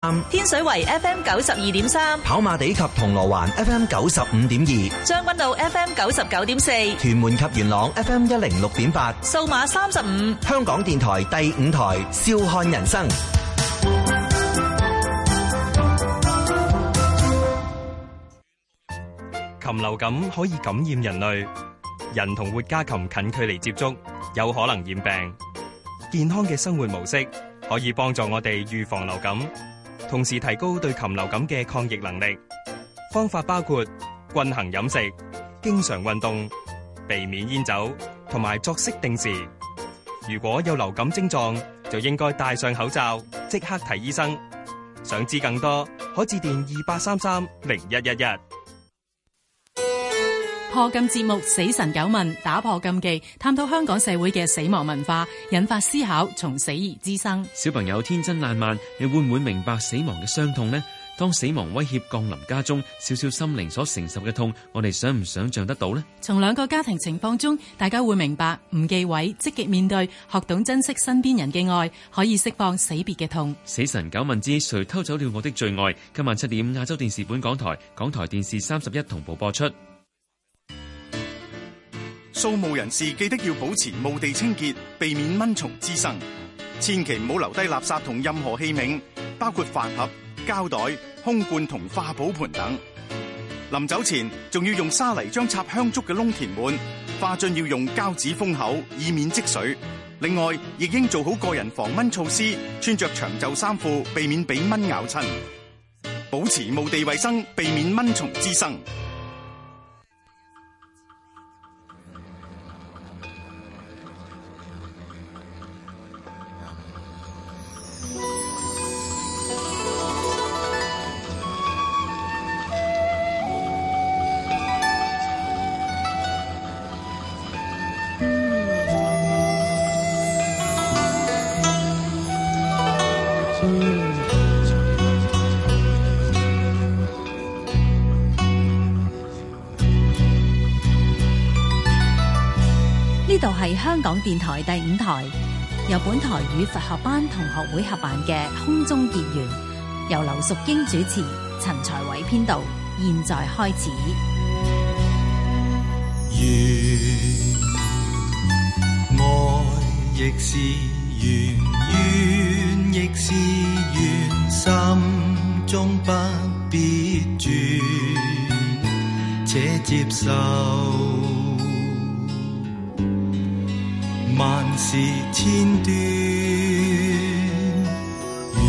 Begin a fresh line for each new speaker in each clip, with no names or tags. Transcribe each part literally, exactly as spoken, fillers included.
天水圍 F M 九十二點三，
跑馬地及銅鑼灣 F M 九十五點二，
將軍澳 F M 九十九點四，
屯門及元朗 F M 一零六點八，
數碼三十五，
香港電台第五台，笑看人生。
禽流感可以感染人類，人同活家禽近距離接觸，有可能染病。健康嘅生活模式可以幫助我哋預防流感，同時提高對禽流感嘅抗疫能力。方法包括均衡飲食、經常運動、避免煙酒同埋作息定時。如果有流感症狀，就應該戴上口罩，即刻睇醫生。想知更多，可致電二八三三零一一一。
破禁節目《死神九問》，打破禁忌，探討香港社會嘅死亡文化，引發思考，從死而知生。
小朋友天真爛漫，你會唔會明白死亡嘅傷痛呢？當死亡威脅降臨家中，少少心靈所承受嘅痛，我哋想唔想象得到呢？
從兩個家庭情況中，大家會明白唔忌諱，積極面對，學懂珍惜身邊人嘅愛，可以釋放死別嘅痛。
死神九問之誰偷走了我的最愛，今晚七點亞洲電視本港台、港台電視三十一同步播出。
掃墓人士記得要保持墓地清潔，避免蚊蟲滋生。千祈唔好留低垃圾同任何器皿，包括飯盒、膠袋、空罐同化寶盤等。臨走前仲要用沙泥將插香燭嘅窿填滿，花樽要用膠紙封口，以免積水。另外，亦應做好個人防蚊措施，穿着長袖衫褲，避免俾蚊咬親。保持墓地衛生，避免蚊蟲滋生。
呢度係香港電台第五台，由本台與佛學班同學會合辦嘅空中結緣，由劉淑英主持，陳才偉編導。現在開始。
緣愛亦是緣，緣亦是緣，心中不必轉，且接受萬事千端。緣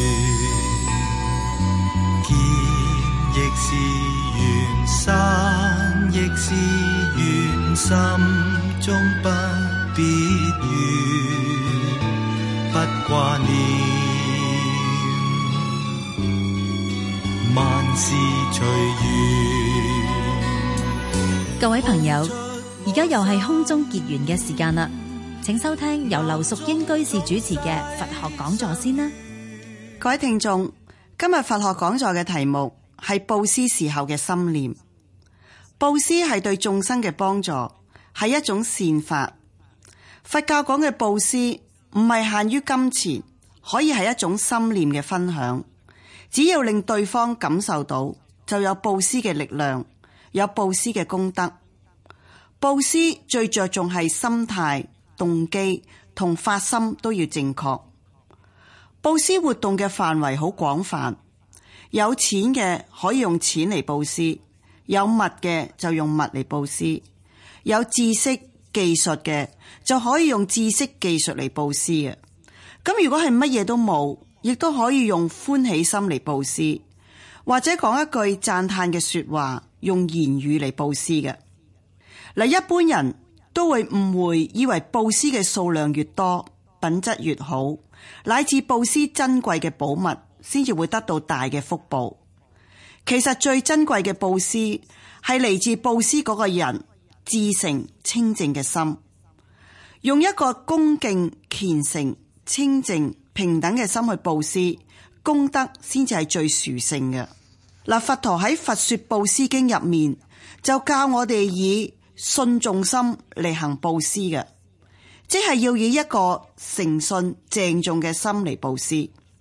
見亦是緣，散亦是緣，心中不必怨，不掛念，萬事隨緣。
各位朋友，而家又係空中結緣嘅時間啦，請收聽由劉淑英居士主持嘅佛學講座先啦。
各位聽眾，今日佛學講座嘅題目係布施時候嘅心念。布施係對眾生嘅幫助，係一種善法。佛教講嘅布施唔係限於金錢，可以係一種心念嘅分享。只要令對方感受到，就有布施嘅力量，有布施嘅功德。布施最着重係心態、動機同發心都要正確。布施活動嘅範圍好廣泛，有錢嘅可以用錢嚟布施，有物嘅就用物嚟布施，有知識技術嘅就可以用知識技術嚟布施嘅。咁如果係乜嘢都冇，亦都可以用歡喜心嚟布施，或者講一句讚嘆嘅說話，用言語嚟布施嘅。嗱，一般人都會誤會，以為布施嘅數量越多，品質越好，乃至布施珍貴嘅寶物，先至會得到大嘅福報。其實最珍貴嘅布施係嚟自布施嗰個人至誠清淨嘅心，用一個恭敬、虔誠、清淨、平等嘅心去布施，功德先至係最殊勝嘅。嗱，佛陀喺《佛說布施經》入面就教我哋以信眾心嚟行布施嘅，即係要以一個誠信鄭重嘅心嚟布施。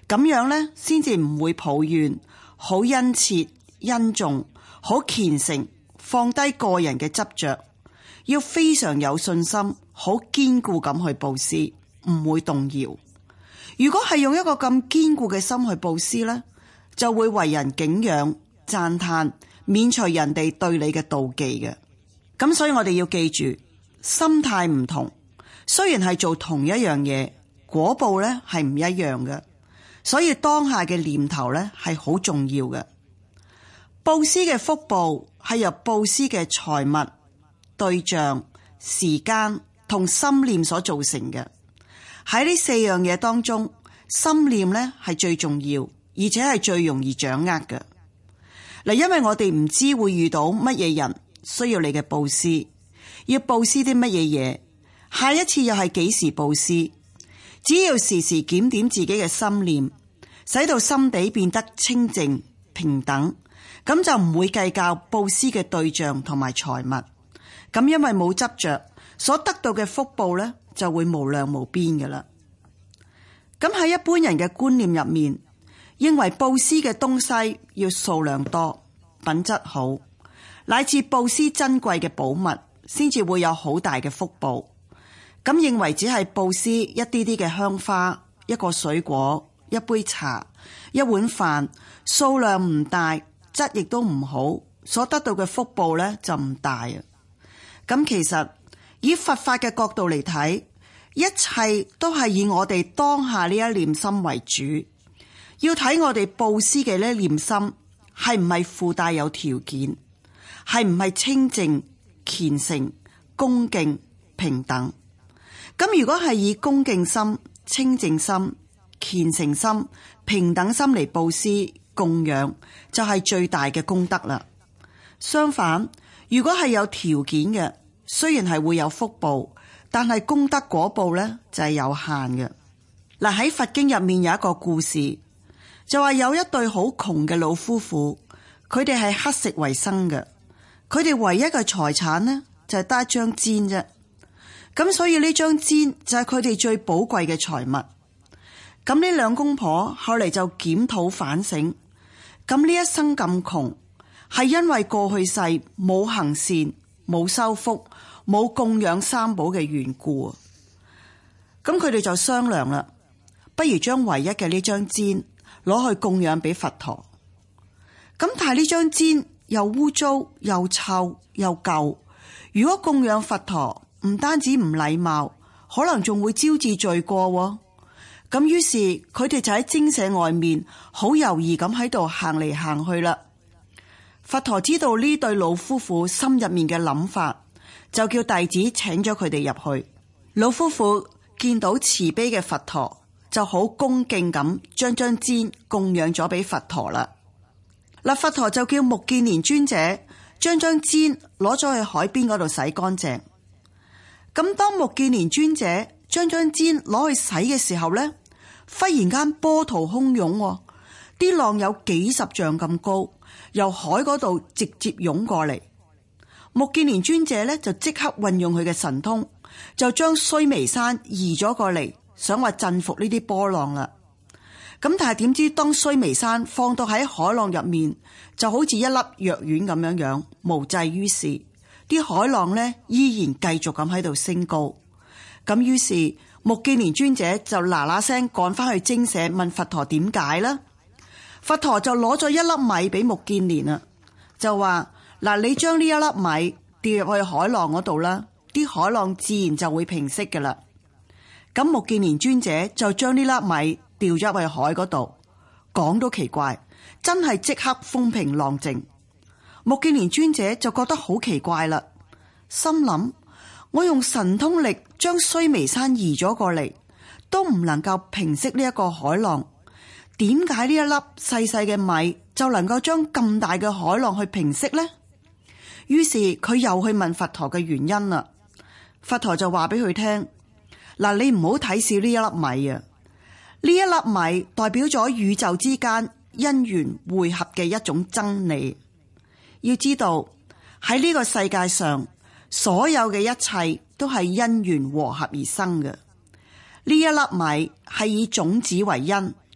咁樣呢，先至唔會抱怨，好殷切、殷重、好虔誠，放低個人嘅執着，要非常有信心，好堅固咁去布施，唔會動搖。如果係用一個咁堅固嘅心去布施呢，就會為人敬仰、讚嘆，免除人哋對你嘅妒忌嘅。咁所以我哋要記住，心態唔同，雖然係做同一樣嘢，果報呢係唔一樣嘅。所以當下嘅念頭呢係好重要嘅。布施嘅福報係由布施嘅財物、對象、時間同心念所造成嘅。喺呢四樣嘢當中，心念呢係最重要，而且係最容易掌握嘅。嗱，因為我哋唔知會遇到乜嘢人需要你嘅布施，要布施啲乜嘢嘢，下一次又係幾時布施。只要時時檢點自己嘅心念，使到心地變得清淨平等，咁就唔會計較布施嘅對象同埋財物。咁因為冇執着，所得到嘅福報呢就會無量無邊嘅啦。咁喺一般人嘅觀念入面，認為布施嘅東西要數量多、品質好，乃至布施珍貴嘅寶物，先至會有好大嘅福報。咁認為只係布施一啲啲嘅香花、一個水果、一杯茶、一碗飯，數量唔大，質亦都唔好，所得到嘅福報呢就唔大啊。咁其實以佛法嘅角度嚟睇，一切都係以我哋當下呢一念心為主，要睇我哋布施嘅呢一念心係唔係附帶有條件，係唔係清淨、虔誠、恭敬、平等。咁如果係以恭敬心、清淨心、虔誠心、平等心嚟布施供養，就係最大嘅功德啦。相反，如果係有條件嘅，雖然係會有福報，但係功德果報呢就係有限嘅。嗱，喺佛經入面有一個故事，就話有一對好窮嘅老夫婦，佢哋係乞食為生嘅，佢哋唯一嘅財產呢就係得一張氈啫。咁所以呢張氈就係佢哋最寶貴嘅財物。咁呢兩公婆後嚟就檢討反省，咁呢一生咁窮，係因為過去世冇行善、冇修福、冇供養三寶嘅緣故。咁佢哋就商量啦，不如將唯一嘅呢張氈攞去供養俾佛陀。咁但係呢張氈又污糟又臭又舊，如果供養佛陀，唔單止唔禮貌，可能仲會招致罪過。咁於是佢哋就喺精舍外面好猶豫咁喺度行嚟行去啦。佛陀知道呢對老夫婦心入面嘅諗法，就叫弟子請咗佢哋入去。老夫婦見到慈悲嘅佛陀，就好恭敬咁將張氈供養咗俾佛陀啦。嗱，佛陀就叫目犍連尊者將張氈攞咗去海邊嗰度洗乾淨。咁當目犍連尊者將張氈攞去洗嘅時候呢，忽然間波濤洶湧，啲浪有幾十丈咁高，由海嗰度直接湧過嚟。目犍連尊者呢就即刻運用佢嘅神通，就將須彌山移咗過嚟，想話鎮服呢啲波浪啦。咁但係點知當須彌山放到喺海浪入面，就好似一粒藥丸咁樣樣，無濟於事。啲海浪呢依然繼續咁喺度升高。咁於是目犍連尊者就嗱嗱聲趕翻去精舍問佛陀點解啦。佛陀就攞咗一粒米俾目犍連啦，就話嗱，你將呢一粒米掉入去海浪嗰度啦，啲海浪自然就會平息噶啦。咁目犍連尊者就將呢粒米掉咗入去海嗰度，講都奇怪，真係即刻風平浪靜。目犍連尊者就覺得好奇怪啦，心諗我用神通力將須彌山移咗過嚟，都唔能夠平息呢一個海浪，點解呢一粒細細嘅米就能夠將咁大嘅海浪去平息呢？於是佢又去問佛陀嘅原因啦。佛陀就話俾佢聽，嗱，你唔好睇小呢一粒米啊，呢一粒米代表咗宇宙之間因緣匯合嘅一種真理。要知道喺呢個世界上，所有嘅一切都係因緣和合而生嘅。呢一粒米係以種子為因，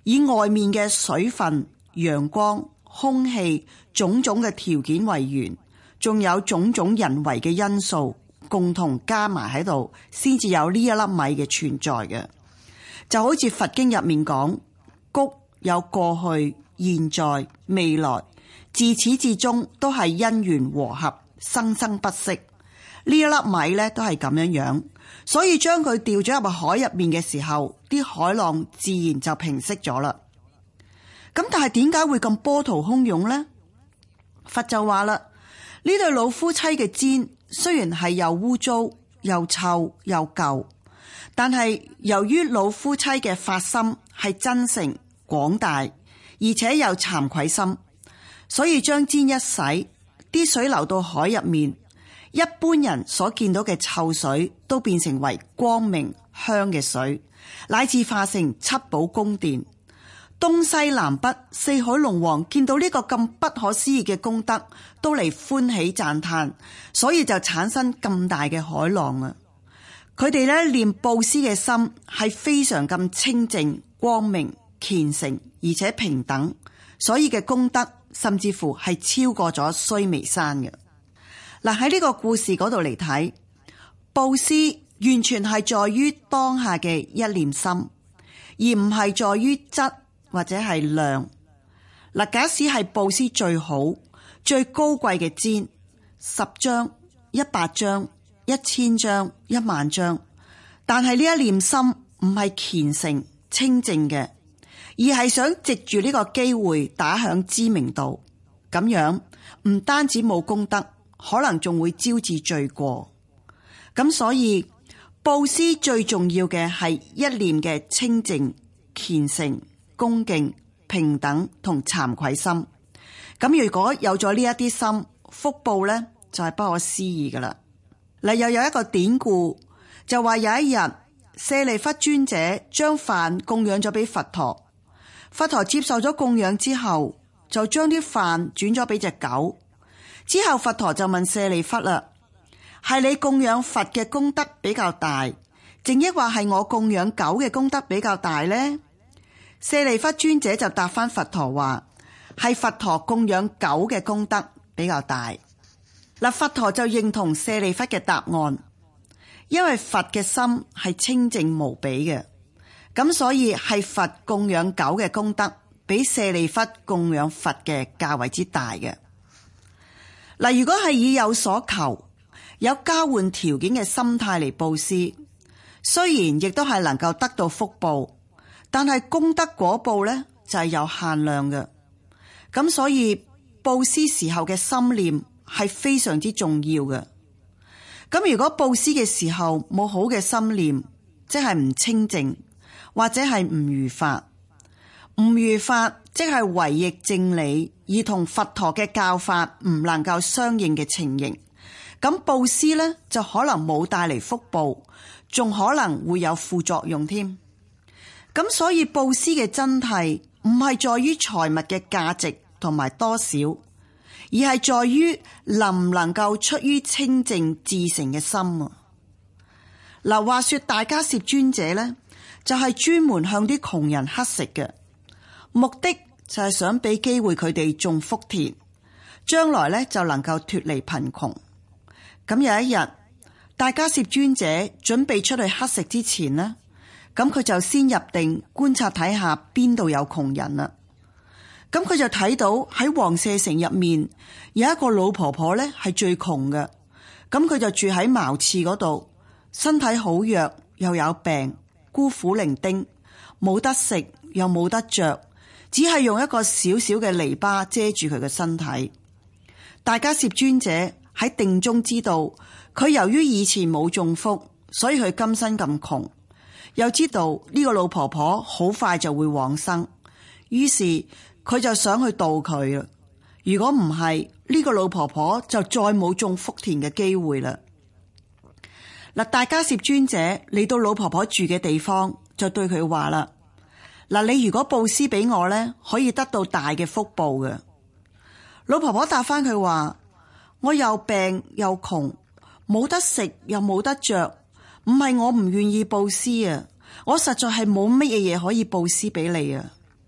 以外面嘅水分、陽光、空氣種種嘅條件為源，仲有種種人為嘅因素共同加埋喺度，先至有呢一粒米嘅存在嘅。就好似佛經入面講，穀有過去、現在、未來，自始至終都係因緣和合，生生不息。呢一粒米呢都係咁樣樣，所以將佢掉咗入海入面嘅時候，啲海浪自然就平息咗啦。咁但係點解會咁波濤洶湧呢？佛就話啦，呢對老夫妻嘅氈雖然係又污糟又臭又舊，但係由於老夫妻嘅發心係真誠廣大，而且有慚愧心，所以將氈一洗，啲水流到海入面，一般人所見到嘅臭水都變成為光明香嘅水，乃至化成七寶宮殿。東西南北四海龍王見到呢個咁不可思議嘅功德，都嚟歡喜讚嘆，所以就產生咁大嘅海浪啊！佢哋咧念布施嘅心係非常咁清淨、光明、虔誠，而且平等，所以嘅功德甚至乎係超過咗須彌山嘅。嗱，喺呢個故事嗰度嚟睇，布施完全係在於當下嘅一念心，而唔係在於質或者係量。嗱，假使係布施最好、最高貴嘅氈，十張、一百張、一千張、一萬張，但係呢一念心唔係虔誠清淨嘅，而係想藉住呢個機會打響知名度，咁樣唔單止冇功德，可能仲會招致罪過。咁所以布施最重要嘅係一念嘅清淨、虔誠、恭敬、平等同慚愧心。咁如果有咗呢一啲心，福報呢就係不可思議噶啦。嗱，又有一個典故，就話有一日舍利弗尊者將飯供養咗俾佛陀，佛陀接受咗供養之後，就將啲飯轉咗俾隻狗。之後佛陀就問舍利弗啦，係你供養佛嘅功德比較大，淨抑或係我供養狗嘅功德比較大呢？舍利弗尊者就答翻佛陀話，係佛陀供養狗嘅功德比較大。嗱，佛陀就認同舍利弗嘅答案，因為佛嘅心係清淨無比嘅，咁所以係佛供養狗嘅功德比舍利弗供養佛嘅較為之大嘅。嗱，如果係以有所求、有交換條件嘅心態嚟布施，雖然亦都係能夠得到福報，但係功德果報呢就係有限量嘅。咁所以布施時候嘅心念係非常之重要嘅。咁如果布施嘅時候冇好嘅心念，即係唔清淨，或者係唔如法。唔如法即係違逆正理，而同佛陀嘅教法唔能夠相應嘅情形。咁布施呢就可能冇帶嚟福報，仲可能會有副作用添。咁所以布施嘅真諦唔係在於財物嘅價值同埋多少，而係在於能唔能夠出於清淨至誠嘅心啊。嗱，話說大迦葉尊者呢，就係專門向啲窮人乞食嘅，目的就係想俾機會佢哋種福田，將來呢就能夠脫離貧窮。咁有一日，大迦葉尊者準備出去乞食之前呢，咁佢就先入定觀察睇下邊度有窮人啦。咁佢就睇到喺王舍城入面有一個老婆婆呢係最窮嘅，咁佢就住喺茅廁嗰度，身體好弱又有病，孤苦伶仃，冇得食又冇得着，只係用一個小小嘅籬笆遮住佢嘅身體。大迦葉尊者喺定中知道佢由於以前冇種福，所以佢今生咁窮，又知道呢個老婆婆好快就會往生，於是佢就想去度佢啦。如果唔係，呢個老婆婆就再冇種福田嘅機會啦。嗱，大迦葉尊者嚟到老婆婆住嘅地方，就對佢話啦：嗱，你如果布施俾我呢，可以得到大嘅福報嘅。老婆婆答翻佢話：我又病又窮，冇得食又冇得着，唔係我唔願意布施啊，我實在係冇乜嘢嘢可以布施俾你啊。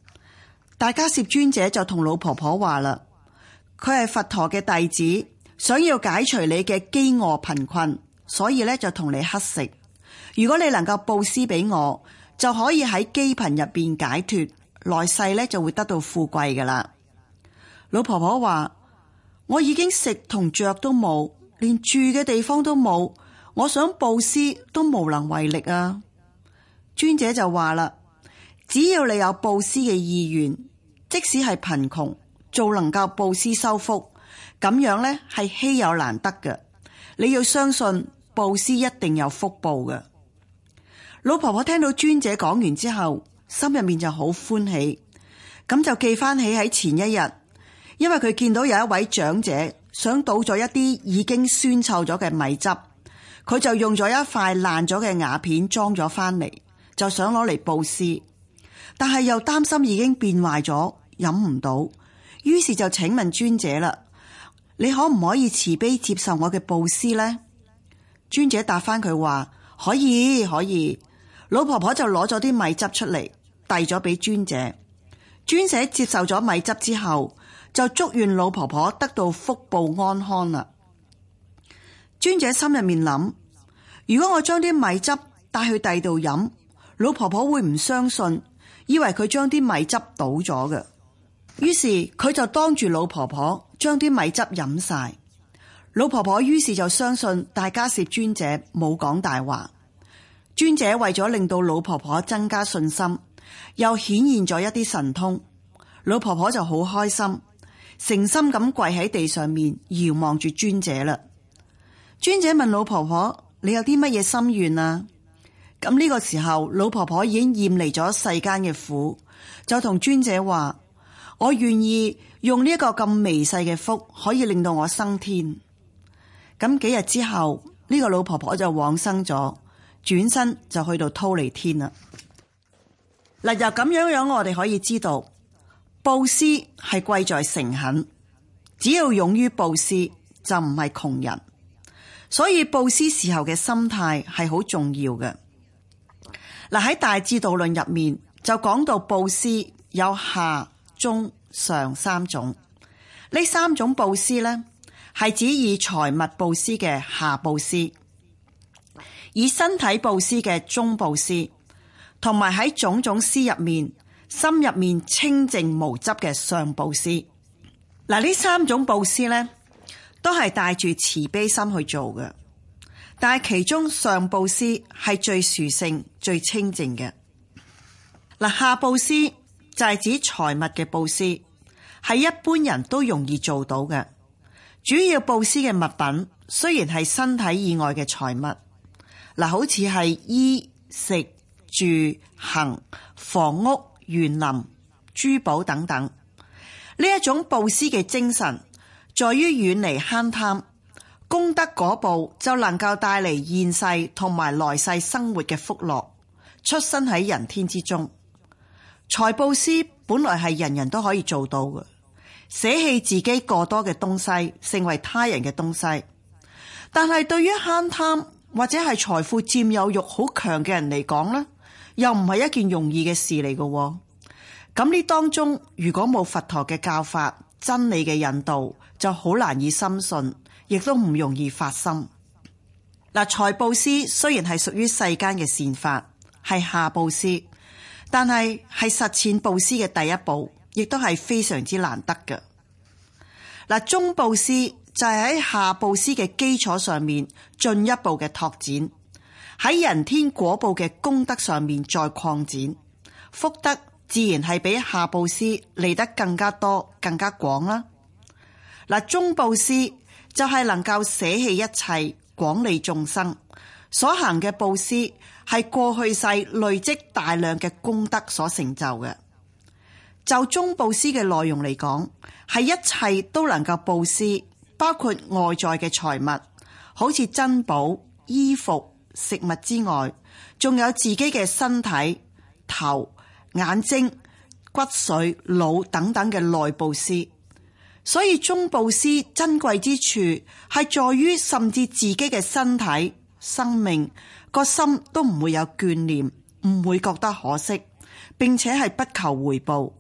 大迦葉尊者就同老婆婆話啦，佢係佛陀嘅弟子，想要解除你嘅飢餓貧困，所以咧就同你乞食。如果你能夠布施俾我，就可以喺飢貧入邊解脫，來世咧就會得到富貴噶啦。老婆婆話，我已經食同着都冇，連住嘅地方都冇，我想布施都無能為力啊。尊者就話啦，只要你有布施嘅意願，即使係貧窮，做能夠布施修福，咁樣咧係稀有難得嘅。你要相信布施一定有福報嘅。老婆婆聽到尊者講完之後，心入面就好歡喜，咁就記翻起喺前一日，因為佢見到有一位長者想倒咗一啲已經酸臭咗嘅米汁，佢就用咗一塊爛咗嘅瓦片裝咗翻嚟，就想攞嚟布施，但係又擔心已經變壞咗，飲唔到，於是就請問尊者啦，你可唔可以慈悲接受我嘅布施呢？尊者答翻佢話，可以可以。老婆婆就攞咗啲米汁出嚟，遞咗俾尊者。尊者接受咗米汁之後，就祝願老婆婆得到福報安康啦。尊者心入面諗，如果我將啲米汁帶去第度飲，老婆婆會唔相信，以為佢將啲米汁倒咗嘅。於是佢就當住老婆婆將啲米汁飲晒。老婆婆於是就相信大迦葉尊者冇講大話。尊者為咗令到老婆婆增加信心，又顯現咗一啲神通，老婆婆就好開心，誠心咁跪喺地上面遙望住尊者啦。尊者問老婆婆，你有啲乜嘢心願啊？咁呢個時候，老婆婆已經厭離咗世間嘅苦，就同尊者話，我願意用呢一個咁微細嘅福，可以令到我升天。咁幾日之後，呢個老婆婆就往生咗，轉身就去到忉利天啦。嗱，由咁樣樣我哋可以知道，布施係貴在誠懇，只要勇於布施就唔係窮人，所以布施時候嘅心態係好重要嘅。嗱，喺大智度論入面就講到布施有下、中、上三種，呢三種布施呢，係指以財物布施嘅下布施，以身體布施嘅中布施，同埋喺種種施入面心入面清淨無執嘅上布施。嗱，呢三種布施呢，都係帶住慈悲心去做嘅，但係其中上布施係最殊勝最清淨嘅。嗱，下布施就係指財物嘅布施，係一般人都容易做到嘅。主要布施嘅物品雖然係身體以外嘅財物，嗱，好似係衣食住行、房屋、園林、珠寶等等。呢一種布施嘅精神，在於遠離慳貪，功德果報就能夠帶嚟現世同埋來世生活嘅福樂，出生喺人天之中。財布施本來係人人都可以做到嘅，捨棄自己過多嘅東西，成為他人嘅東西。但係對於慳貪或者係財富佔有欲好強嘅人嚟講呢，又唔係一件容易嘅事嚟嘅。咁呢當中如果冇佛陀嘅教法、真理嘅引導，就好難以深信，亦都唔容易發心。嗱，財布施雖然係屬於世間嘅善法，係下布施，但係係實踐布施嘅第一步，亦都係非常之難得嘅。嗱，中布施就係喺下布施嘅基礎上面進一步嘅拓展，喺人天果報嘅功德上面再擴展，福德自然係比下布施嚟得更加多、更加廣啦。嗱，中布施就係能夠捨棄一切，廣利眾生，所行嘅布施係過去世累積大量嘅功德所成就嘅。就中布施嘅內容嚟講，係一切都能夠布施，包括外在嘅財物，好似珍寶、衣服、食物之外，仲有自己嘅身體、頭、眼睛、骨髓、腦等等嘅內布施。所以中布施珍貴之處係在於，甚至自己嘅身體、生命個心都唔會有眷念，唔會覺得可惜，並且係不求回報，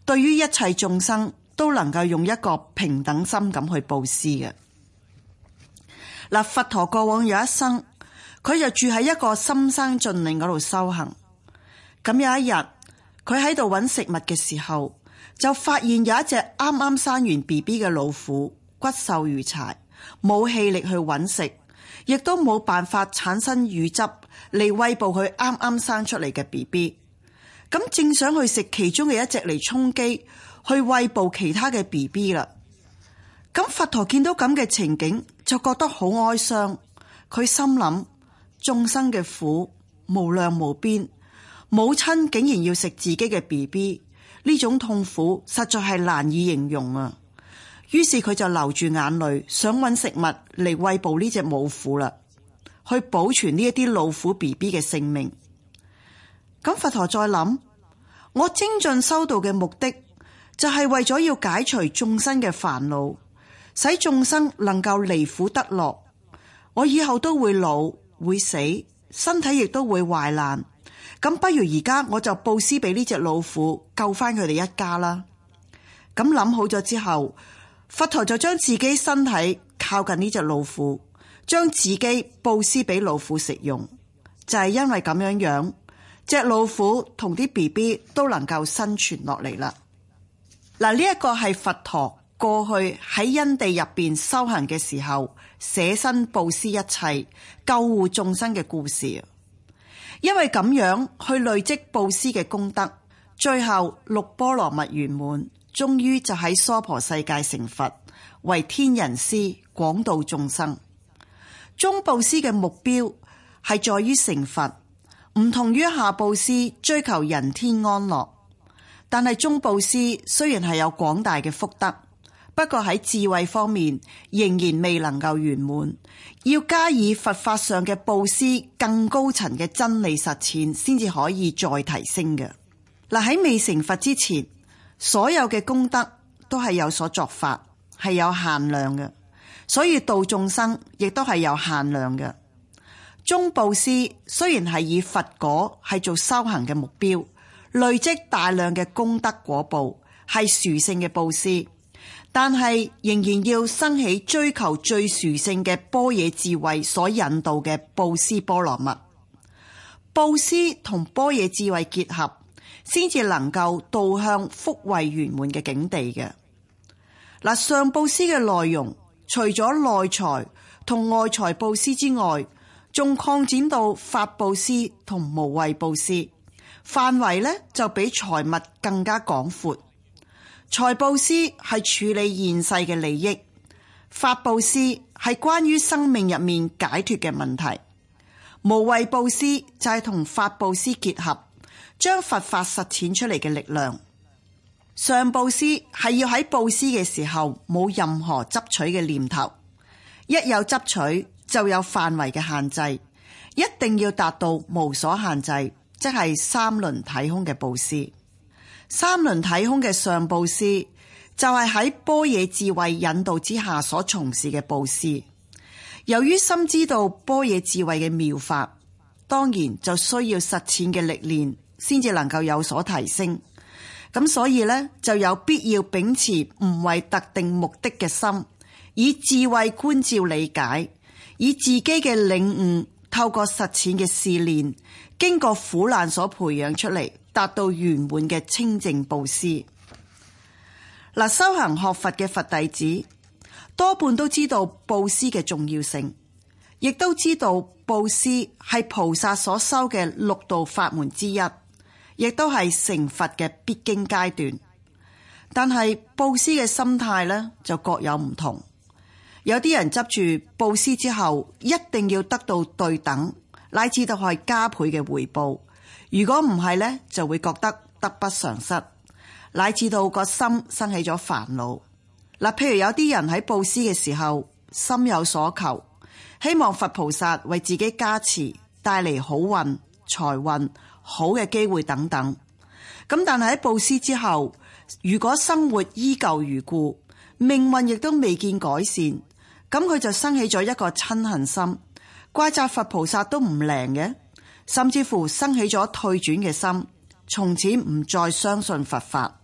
對於一切眾生都能夠用一個平等心咁去布施嘅。嗱，佛陀過往有一生，佢就住喺一個深山峻嶺嗰度修行。咁有一日，佢喺度揾食物嘅時候，就發現有一隻啱啱生完 B B 嘅老虎，骨瘦如柴，冇氣力去揾食，亦都冇辦法產生乳汁嚟餵哺佢啱啱生出嚟嘅 B B。咁正想去食其中嘅一隻嚟充飢，去餵哺其他嘅 B B 啦。咁佛陀見到咁嘅情景，就覺得好哀傷。佢心諗，眾生嘅苦無量無邊，母親竟然要食自己嘅 B B， 呢種痛苦實在係難以形容啊！於是佢就流住眼淚，想揾食物嚟餵哺呢隻母虎啦，去保存呢一啲老虎 B B 嘅性命。咁佛陀再諗，我精進修道嘅目的就係為咗要解除眾生嘅煩惱，使眾生能夠離苦得樂。我以後都會老會死，身體亦都會壞爛，咁不如而家我就布施俾呢隻老虎，救翻佢哋一家啦。咁諗好咗之後，佛陀就將自己身體靠近呢隻老虎，將自己布施俾老虎食用。就係因為咁樣樣，隻老虎同啲 B B 都能夠生存落嚟啦。嗱，呢一個係佛陀過去喺因地入邊修行嘅時候，捨身布施一切，救護眾生嘅故事。因為咁樣去累積布施嘅功德，最後六波羅蜜圓滿，終於就喺娑婆世界成佛，為天人師，廣度眾生。中布施嘅目標係在於成佛，唔同於下布施追求人天安樂。但係中布施雖然係有廣大嘅福德，不過喺智慧方面仍然未能夠圓滿，要加以佛法上嘅布施更高層嘅真理實踐，先至可以再提升嘅。嗱，喺未成佛之前，所有嘅功德都係有所作法，係有限量嘅，所以度眾生亦都係有限量嘅。中布施雖然係以佛果係做修行嘅目標，累積大量嘅功德果報，係殊勝嘅布施，但係仍然要生起追求最殊勝嘅般若智慧所引導嘅布施波羅蜜。布施同般若智慧結合，先至能夠導向福慧圓滿嘅境地嘅。嗱，上布施嘅內容，除咗內財同外財布施之外，仲擴展到法布施同無畏布施，範圍咧就比財物更加廣闊。財布施係處理現世嘅利益，法布施係關於生命入面解脫嘅問題，無畏布施就係同法布施結合，將佛法實踐出嚟嘅力量。上布施係要喺布施嘅時候冇任何執取嘅念頭，一有執取就有範圍嘅限制，一定要達到無所限制，即係三輪體空嘅布施。三輪體空嘅上布施就係喺般若智慧引導之下所從事嘅布施。由於深知道般若智慧嘅妙法，當然就需要實踐嘅歷練先至能夠有所提升。咁所以呢，就有必要秉持唔為特定目的嘅心，以智慧觀照理解，以自己嘅領悟透過實踐嘅試煉，經過苦難所培養出嚟，達到圓滿嘅清淨布施。嗱，修行學佛嘅佛弟子多半都知道布施嘅重要性，亦都知道布施係菩薩所修嘅六道法門之一，亦都係成佛嘅必經階段。但係布施嘅心態呢，就各有唔同。有啲人執住布施之後一定要得到對等，乃至到係加倍嘅回報。如果唔係呢，就會覺得得不償失，乃至到個心生起咗煩惱。嗱，譬如有啲人喺布施嘅時候心有所求，希望佛菩薩為自己加持，帶嚟好運、財運、好嘅機會等等。咁但係喺布施之後，如果生活依舊如故，命運亦都未見改善，咁佢就生起咗一個嗔恨心，怪責佛菩薩都唔靈嘅，甚至乎生起咗退轉嘅心，從此唔再相信佛法，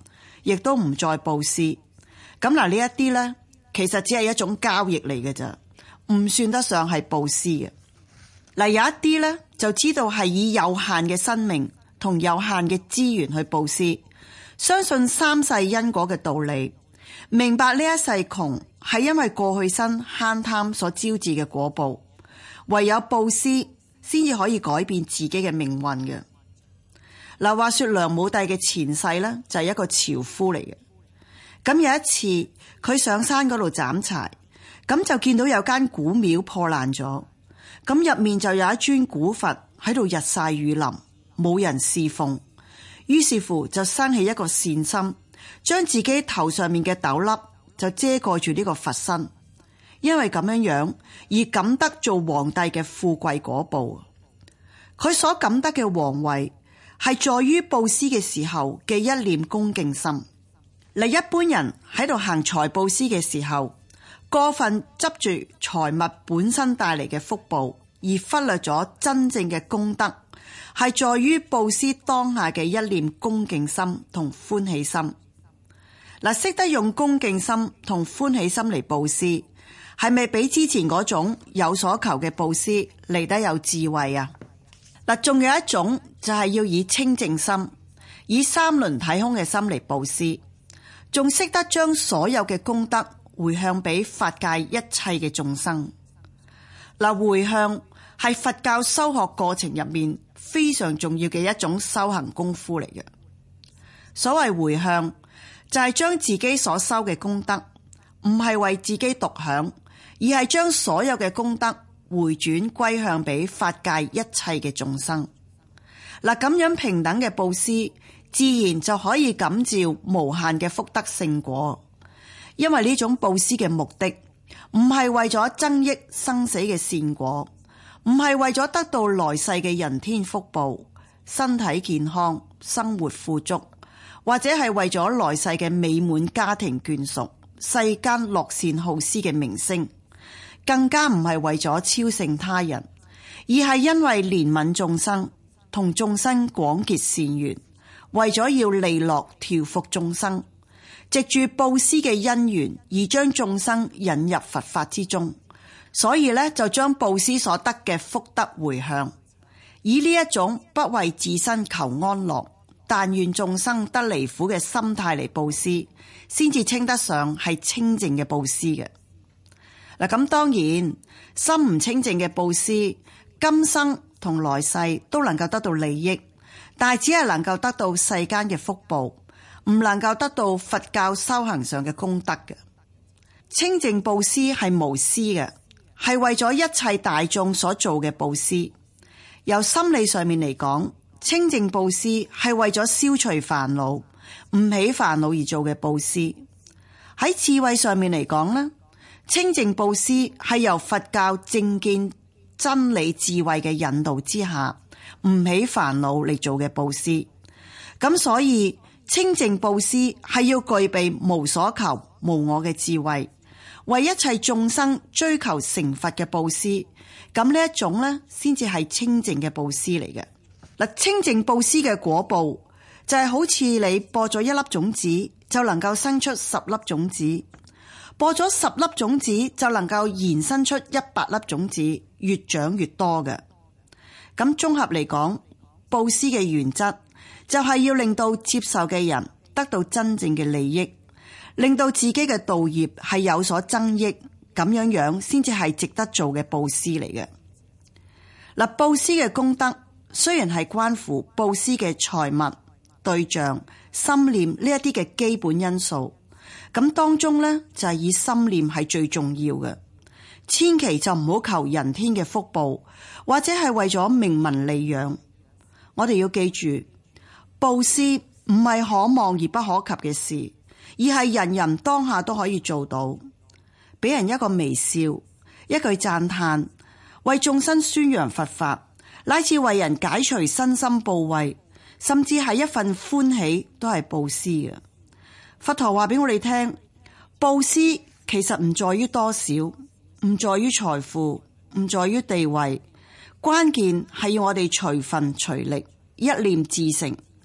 亦都唔再布施。咁嗱，呢一啲呢，其實只係一種交易嚟嘅咋，唔算得上係布施嘅。嗱，有一啲呢，就知道係以有限嘅生命同有限嘅資源去布施，相信三世因果嘅道理，明白呢一世窮係因為過去生慳貪所招致嘅果報，唯有布施先至可以改變自己嘅命運嘅。嗱，話說梁武帝嘅前世呢，就係一個樵夫嚟嘅。咁有一次佢上山嗰度斬柴，咁就見到有間古廟破爛咗，咁入面就有一尊古佛喺度日曬雨淋，冇人侍奉，於是乎就生起一個善心，將自己頭上面嘅斗笠就遮蓋住呢個佛身，因為咁樣樣而感得做皇帝嘅富貴果報。佢所感得嘅皇位係在於布施嘅時候嘅一念恭敬心。嗱，一般人喺度行財布施嘅時候，過分執住財物本身帶嚟嘅福報，而忽略咗真正嘅功德係在於布施當下嘅一念恭敬心同歡喜心。嗱，識得用恭敬心同歡喜心嚟布施，係咪比之前嗰種有所求嘅布施嚟得有智慧啊？嗱，仲有一種就係要以清淨心，以三輪體空嘅心嚟布施，仲識得將所有嘅功德回向俾法界一切嘅眾生。嗱，回向係佛教修學過程入面非常重要嘅一種修行功夫嚟嘅。所謂回向，就係將自己所修嘅功德，唔係為自己獨享，而係將所有嘅功德回轉歸向俾法界一切嘅眾生。嗱，咁樣平等嘅布施，自然就可以感召無限嘅福德聖果。因為呢種布施嘅目的，唔係為咗增益生死嘅善果，唔係為咗得到來世嘅人天福報、身體健康、生活富足，或者係為咗來世嘅美滿家庭眷屬、世間樂善好施嘅名聲，更加唔係為咗超勝他人，而係因為憐憫眾生，同眾生廣結善緣，為咗要利樂調伏眾生，藉住布施嘅因緣而將眾生引入佛法之中，所以呢，就將布施所得嘅福德回向，以呢一種不為自身求安樂，但願眾生得離苦嘅心態嚟布施，先至稱得上係清淨嘅布施嘅。嗱，咁當然心唔清淨嘅布施，今生同來世都能夠得到利益，但係只係能夠得到世間嘅福報，唔能夠得到佛教修行上嘅功德嘅。清淨布施係無私嘅，係為咗一切大眾所做嘅布施。由心理上面嚟講，清淨布施係為咗消除煩惱，唔起煩惱而做嘅布施。喺智慧上面嚟講呢，清淨布施係由佛教正見真理智慧嘅引導之下，唔起煩惱嚟做嘅布施。咁所以清淨布施係要具備無所求無我嘅智慧，為一切眾生追求成佛嘅布施。咁呢一種呢，先至係清淨嘅布施嚟嘅。嗱，清淨布施嘅果報就係好似你播咗一粒種子，就能夠生出十粒種子。播咗十粒種子就能夠延伸出一百粒種子，越長越多嘅。咁綜合嚟講，布施嘅原則就係要令到接受嘅人得到真正嘅利益，令到自己嘅道業係有所增益，咁樣樣先至係值得做嘅布施嚟嘅。嗱，布施嘅功德雖然係關乎布施嘅財物、對象、心念呢一啲嘅基本因素。咁當中呢，就係以心念係最重要嘅，千祈就唔好求人天嘅福報，或者係為咗名聞利養。我哋要記住，布施唔係可望而不可及嘅事，而係人人當下都可以做到。俾人一個微笑，一句讚嘆，為眾生宣揚佛法，乃至為人解除身心怖畏，甚至係一份歡喜，都係布施嘅。佛陀話俾我哋聽，布施其實唔在於多少，唔在於財富，唔在於地位，關鍵係要我哋隨分隨力，一念至誠。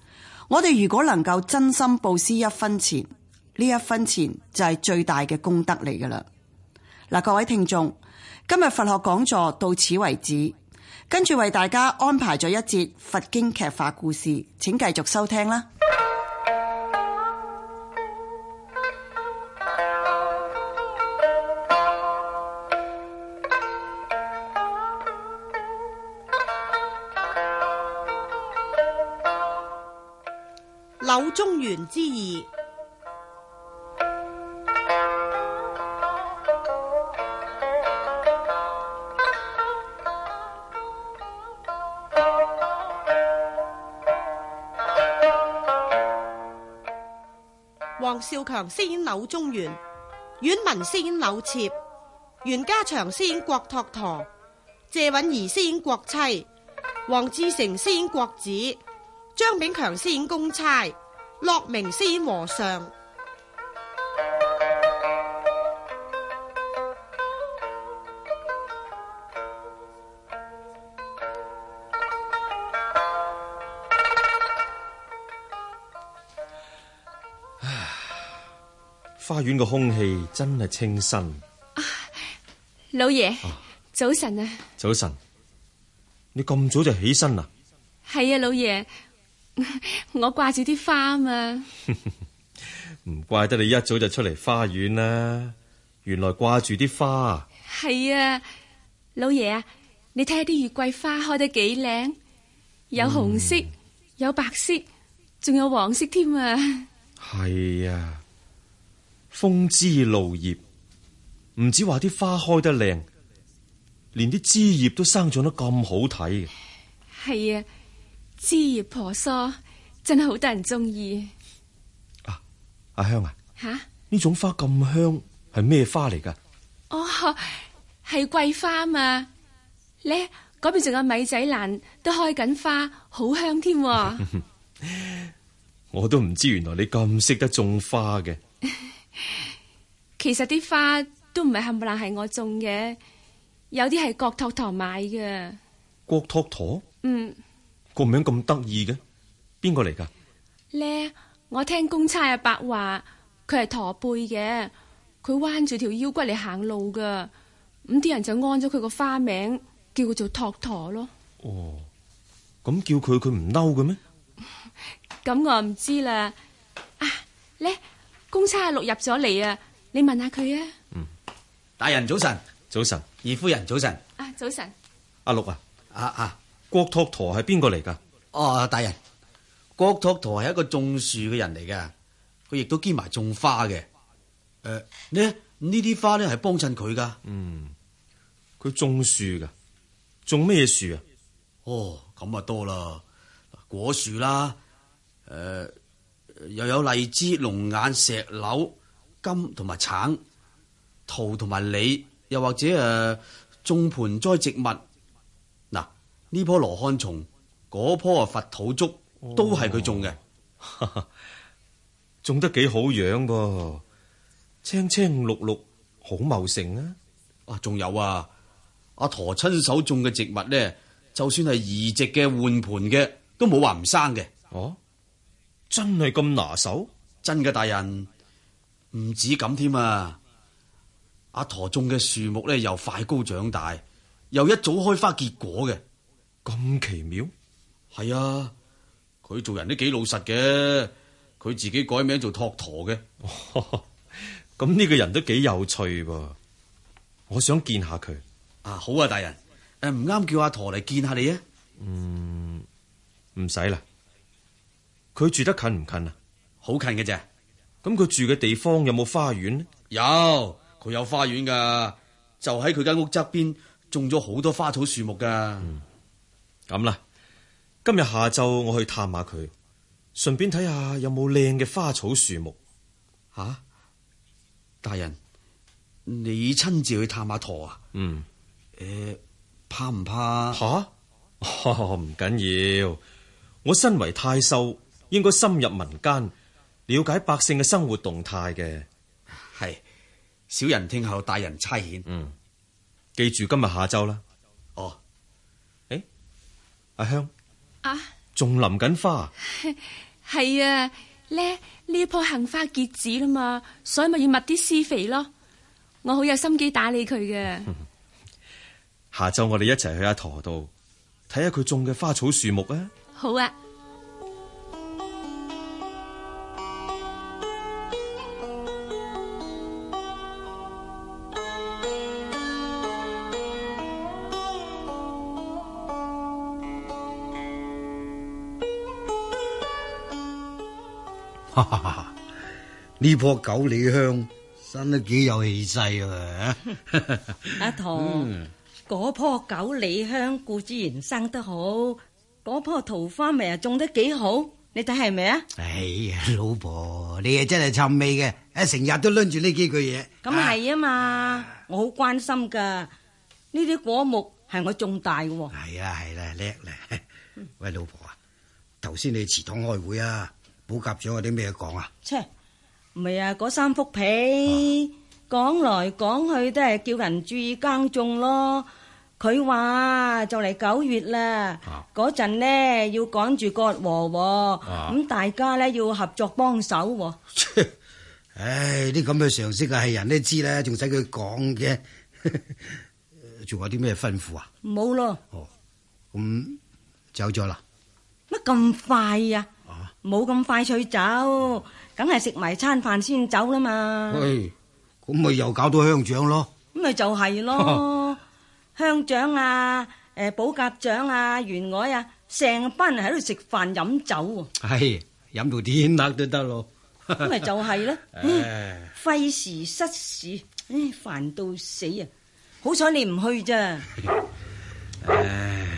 我哋如果能夠真心布施一分錢，呢一分錢就係最大嘅功德嚟噶啦。嗱，各位聽眾，今日佛學講座到此為止，跟住為大家安排咗一節佛經劇化故事，請繼續收聽啦。
柳宗元之二。黃少強飾演柳宗元，阮文飾演柳妾，袁家祥飾演郭拓陀，謝允兒飾演郭妻，黃志成飾演郭子，張炳強飾演公差，駱明飾演和尚。
花園嘅空氣真係清新。
啊，老爺，啊，早晨啊！
早晨，你咁早就起身啦？
係啊，老爺，我掛住啲花嘛。
唔怪得你一早就出嚟花園啦，原來掛住啲花。
係啊，老爺啊，你睇下啲月桂花開得幾靚，有紅色，嗯，有白色，仲有黃色添啊。
係啊。風枝露葉，唔止話啲花開得靚，連啲枝葉都生長得咁好睇嘅。
係啊，枝葉婆娑，真係好得人中意。
啊，阿香啊，
吓，
呢種花咁香，係咩花嚟噶？
哦，係桂花嘛。咧嗰邊仲有米仔蘭都開緊花，好香添。
我都唔知原來你咁識得種花嘅。
其實啲花都唔係冚唪唥係我種嘅，有啲係郭拓陀買嘅。
郭拓陀？
嗯，
個名咁得意嘅，邊個嚟噶？
咧，我聽公差阿伯話，佢係駝背嘅，佢彎住條腰骨嚟行路噶，咁啲人就安咗佢個花名，叫佢做拓陀咯。
哦，咁叫佢佢唔嬲嘅咩？
咁我唔知啦。啊，咧。公差阿六入咗嚟啊！你問下佢啊。
嗯，大人早晨。
早晨。
二夫人早晨。
啊，早晨。
阿六啊，
啊啊，
郭拓陀係邊個嚟噶？
哦，大人，郭拓陀係一個種樹嘅人嚟噶，佢亦都兼埋種花嘅。誒、呃，呢呢啲花咧係幫襯佢噶。
嗯，佢種樹噶，種咩樹啊？
哦，咁啊多啦，果樹啦，誒、呃。又有荔枝、龍眼、石榴、柑同埋橙、桃同埋李，又或者誒種盆栽植物。嗱，呢棵羅漢松，嗰棵啊佛土竹，都係佢種嘅。
哦、種得幾好樣噃，青青綠綠，好茂盛啊！
啊，仲有啊，阿陀親手種嘅植物咧，就算係移植嘅、換盆嘅，都冇話唔生嘅。
哦。真係咁拿手？
真嘅，大人，唔止咁添啊！阿陀種嘅樹木咧，又快高長大，又一早開花結果嘅，
咁奇妙。
係啊，佢做人都幾老實嘅，佢自己改名做拓陀嘅。
咁呢個人都幾有趣噃，我想見下佢。
啊，好啊，大人，誒，唔啱叫阿陀嚟見下你啊？
嗯，唔使啦。佢住得近唔近啊？
好近嘅啫。
咁佢住嘅地方有冇花園呢？
有，佢有花園噶，就喺佢間屋側邊種咗好多花草樹木噶。
咁啦、嗯，今日下晝我去探下佢，順便睇下有冇靚嘅花草樹木。
吓、啊，大人，你親自去探下陀啊？
嗯。
誒、呃，怕唔怕？
吓、啊？唔緊要，我身為太守。應該深入民間，了解百姓嘅生活動態嘅。
係，小人聽候大人差遣。
嗯，記住今日下晝啦。
哦，
誒，阿香
啊，
仲淋緊花？
係啊，咧呢一棵杏花結籽啦嘛，所以咪要密啲施肥咯。我好有心機打理佢嘅。
下晝我哋一齊去阿陀度睇下佢種嘅花草樹木啊！
好啊。
哈哈哈！呢棵九里香生得幾有氣勢啊！
阿陀，嗰棵九里香固之然生得好，嗰棵桃花咪又種得幾好，你睇係咪啊？
哎呀，老婆，你係真係尋味嘅，誒，成日都掄住呢幾句嘢。
咁係啊嘛，我好關心噶，呢啲果木係我種大嘅。
係啊係啦，叻咧！喂，老婆啊，頭先你祠堂開會啊？補習長有啲咩講啊？
切，唔係啊，嗰三幅被講來講去都係叫人注意耕種咯。佢話就嚟九月啦，嗰陣呢要趕住割禾，咁大家呢要合作幫手。
唉，啲咁嘅常識啊，係人都知啦，仲使佢講嘅？仲有啲咩吩咐啊？
冇咯。
哦，咁走咗啦？
乜咁快呀？冇咁快脆走，梗係食埋餐飯先走啦嘛。
喂，咁咪又搞到鄉長咯？
咁咪就係咯，鄉長啊，誒，保甲長啊，員外啊，成班人喺度食飯飲酒。
係飲到天黑都得咯。
咁咪就係咯，費時失事，唉，煩到死啊！好彩你唔去咋。唉，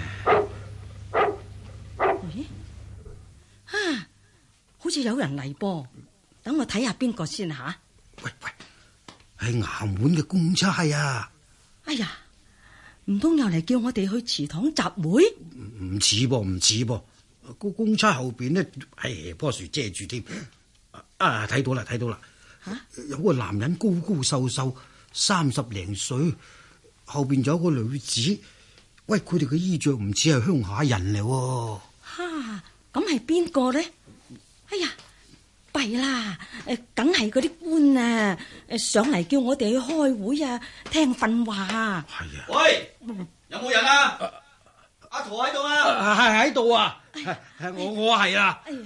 啊！好似有人嚟噃，等我睇下邊個先吓。
喂喂，係衙門嘅公差啊！
哎呀，唔通又嚟叫我哋去祠堂集會？
唔似噃，唔似噃。個公差後邊呢，係棵樹遮住添。啊，睇到啦，睇到啦。吓、啊，有個男人高高瘦瘦，三十零歲，後邊仲有個女子。喂，佢哋嘅衣着唔似係鄉下人嚟。
吓、啊，咁係邊個呢？哎呀，弊啦！誒，梗係嗰啲官啊，誒上嚟叫我哋去開會啊，聽訓話啊。係
啊。喂，有冇人啊？阿陀喺度啊？
係喺度啊。係我我係啊。
誒誒誒誒，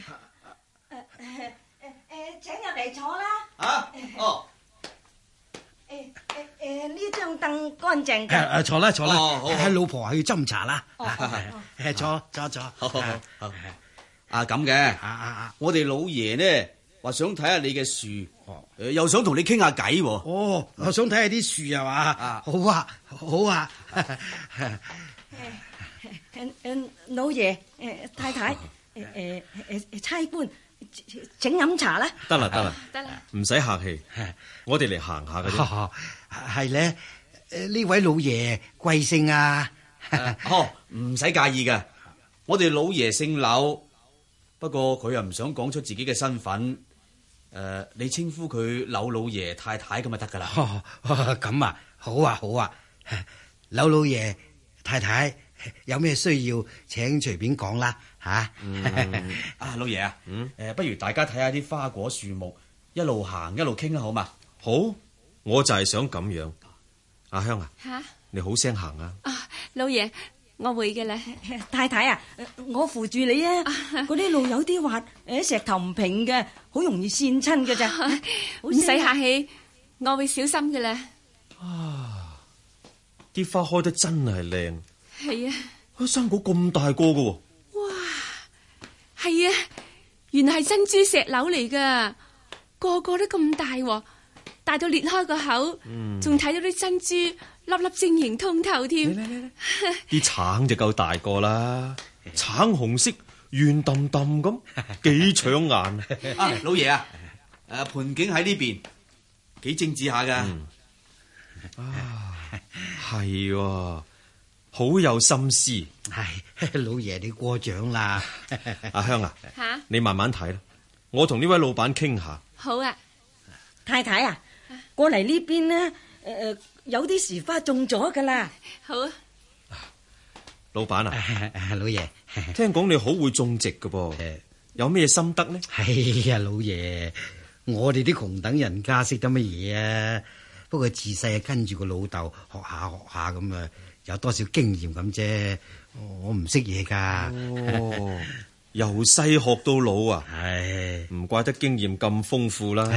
請入嚟坐啦。
啊？哦。
誒誒誒，呢張凳乾淨嘅。
誒誒，坐啦坐啦。
哦，好。
係老婆去斟茶啦。
哦，
係坐坐坐。
好好好。啊咁嘅，啊啊啊！我哋老爺呢話想睇下你嘅樹，誒又想同你傾下偈。
哦，我想睇下啲樹啊嘛。好啊，好啊。
誒誒，老爺，誒太太，誒誒誒誒，差官，請飲茶啦。
得啦得啦，
得啦，
唔使客氣，我哋嚟行下嘅啫。
係咧，誒呢位老爺貴姓啊？
哦，唔使介意嘅，我哋老爺姓柳。不過佢又唔想講出自己嘅身份，誒、呃，你稱呼佢柳老爺太太咁就得噶啦。
咁啊，好啊，好啊，柳老爺太太有咩需要，請隨便講啦，吓、啊。
嗯、啊，老爺啊，誒、嗯呃，不如大家睇下啲花果樹木，一路行一路傾啦，好嘛？
好，我就係想咁樣。阿香啊，
吓，
你好聲行啊。
啊，老爺。我會嘅啦，
太太啊，我扶住你啊！嗰啲路有啲滑，誒，石頭唔平嘅，好容易跣親嘅咋。
唔使客氣，我會小心嘅啦。
啊，啲花開得真係靚。
係啊，
生果咁大個嘅。
哇，係啊，原來係珍珠石榴嚟噶，個個都咁大，大到裂開個口，仲睇、嗯、到啲珍珠。粒粒晶瑩通透添，
啲橙就夠大個啦，橙紅色圓揼揼咁，幾搶眼
啊！老爺啊，誒，盆景喺呢邊，幾精緻下噶。
啊，係，好有心思。
係老爺你過獎啦。
阿香啊，
吓，
你慢慢睇啦，我同呢位老闆傾下。
好啊，
太太啊，過嚟呢邊呢，誒。有啲樹花種咗噶啦，
好啊！
老闆啊，
老爺，
聽講你好會種植噶噃， 有咩心得呢？
哎呀，老爺，我哋啲窮等人家識得乜嘢啊？不過自細啊跟住個老豆學下學下咁啊，有多少經驗咁啫。我唔識嘢噶。
哦，由細學到老啊！
唉，
唔怪得經驗咁豐富啦。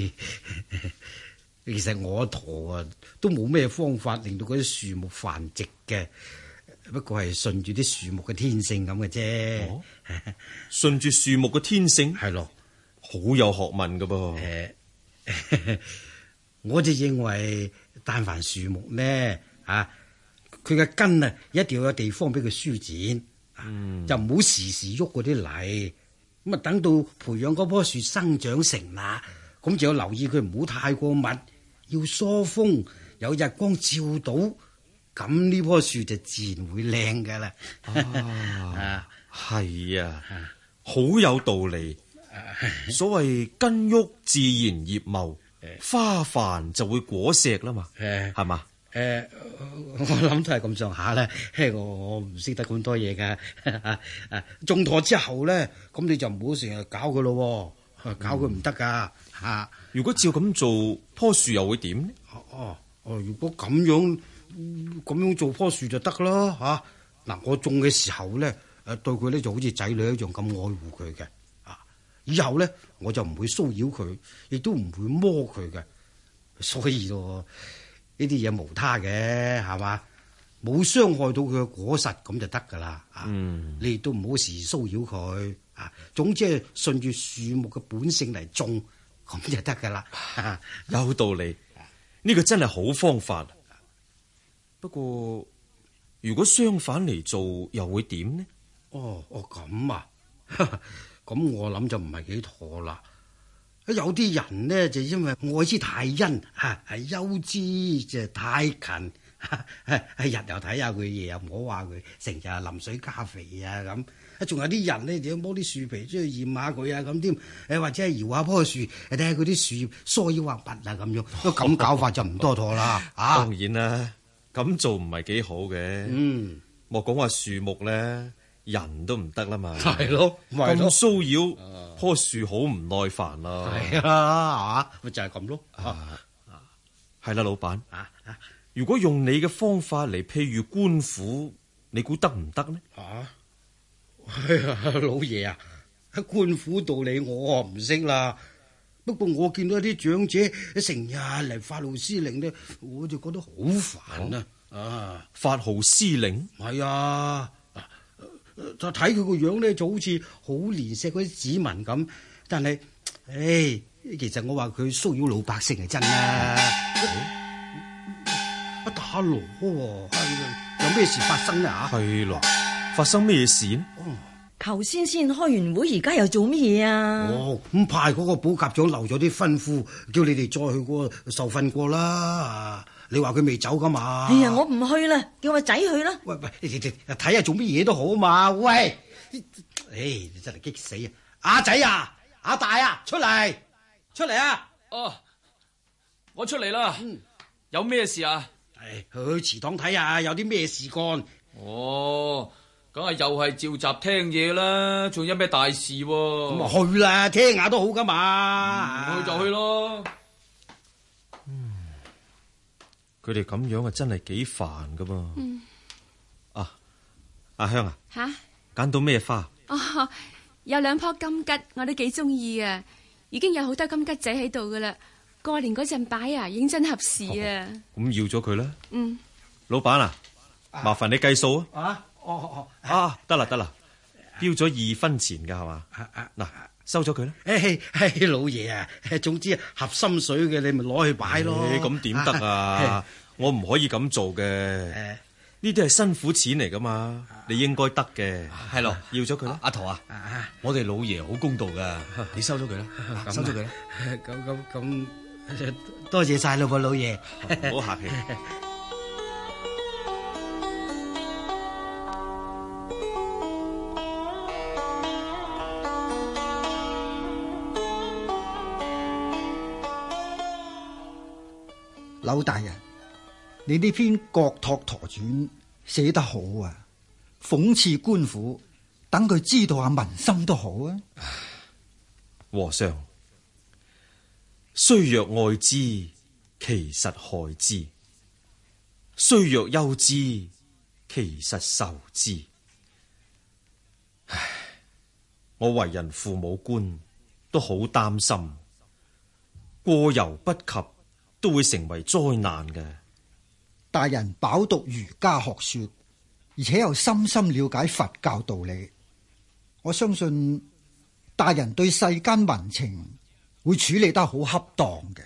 其實我陀啊都冇咩方法令到嗰啲樹木繁殖嘅，不過係順住啲樹木嘅天性咁嘅啫。
哦，順住樹木嘅天性
係咯，
好有學問噶噃。
誒，我就認為但凡樹木呢啊，佢嘅根啊一定要有地方俾佢舒展，嗯、就唔好時時喐嗰啲泥。咁啊，等到培養嗰棵樹生長成啦，咁就要留意佢唔好太過密，要疏風，有日光照到，咁呢棵樹就自然會靚噶啦。
啊，係啊，好有道理。所謂根郁自然葉茂，花繁就會果碩啦嘛，係嘛？
誒，我諗都係咁上下啦。我我唔識得咁多嘢噶。誒，種妥之後咧，咁你就唔好成日搞佢咯，搞佢唔得噶吓。
如果照咁做，棵樹又會點呢？
哦哦，如果咁樣咁樣做棵樹就得啦吓。嗱，我種嘅時候咧，誒對佢咧就好似仔女一樣咁愛護佢嘅。啊，以後咧我就唔會騷擾佢，亦都唔會摸佢嘅。所以咯。呢啲嘢無他嘅，係嘛？冇傷害到佢嘅果實咁就得噶啦。嗯，你亦都唔好時時騷擾佢啊。總之係順住樹木嘅本性嚟種，咁就得噶啦。
有道理，呢個真係好方法。不過如果相反嚟做，又會點呢？
哦哦，咁啊，咁我諗就唔係幾妥啦。有啲人呢，就因為愛之太殷，吓係憂之就太勤，係日又睇下佢，夜又唔好話佢，成日淋水加肥啊咁。仲有啲人呢，就要摸啲樹皮出去驗下佢啊咁添，誒或者係搖下棵樹，睇下佢啲樹葉疏腰滑拔啊咁樣，都咁搞法就唔多妥啦。啊，
當然啦，咁做唔係幾好嘅。嗯，莫講話樹木咧，人都唔得啦嘛。
係咯，
咁騷擾。棵樹好唔耐煩啦，
係啊，咪就係咁咯。
係啦，老闆，如果用你嘅方法嚟譬喻官府，你估得唔得呢？
啊，老爺啊，官府道理我唔識啦。不過我見到啲長者成日嚟發號施令呢，我就覺得好煩啊。啊，
發號施令
係啊。就睇佢個樣咧，就好似好憐惜嗰啲子民咁。但係，唉，其實我話佢騷擾老百姓係真啦。不打鑼喎，有咩事發生啊？
係咯，發生咩事呢？
頭先先開完會，而家又做乜嘢啊？
哦，咁派嗰個保甲長留咗啲吩咐，叫你哋再去過受訓過啦。你話佢未走噶嘛？
哎呀，我唔去啦，叫個仔去啦。
喂喂，睇下做乜嘢都好嘛。喂，唉，你真係激死啊！阿仔啊，阿大啊，出嚟，出嚟啊！
哦，我出嚟啦。嗯，有咩事啊？
唉，去祠堂睇下有啲咩事幹。
哦，梗係又係召集聽嘢啦，仲有咩大事？咁
啊去啦，聽下都好噶嘛。
嗯，去就去咯。
佢哋咁樣啊，真係幾煩噶噃。嗯，啊，阿香啊，
吓
揀到咩花？
哦，有兩棵金桔，我都幾中意啊。已經有好多金桔仔喺度噶啦，過年嗰陣擺啊，認真合時啊。
咁要咗佢啦。
嗯，
老闆啊，麻煩你計數啊。
啊，哦哦，
啊，得啦得啦，標咗二分錢噶係嘛？嗱。收咗佢啦！
誒誒，老爺啊，總之合心水嘅，你咪攞去擺咯。
咁點得啊？我唔可以咁做嘅。呢啲係辛苦錢嚟噶嘛，你應該得嘅。
係咯，
要咗佢啦。
阿桃啊，我哋老爺好公道噶，你收咗佢啦，收咗佢啦。
咁咁咁，多謝晒啦，噃老爺。
唔好客氣。
柳大人，你呢篇《郭拓陀傳》寫得好啊，諷刺官府等佢知道下民心都好啊。
和尚，雖若愛之，其實害之；雖若憂之，其實仇之。唉，我為人父母官，都好擔心，過猶不及都會成為災難嘅。
大人飽讀儒家學說，而且又深深了解佛教道理，我相信大人對世間民情會處理得好恰當嘅。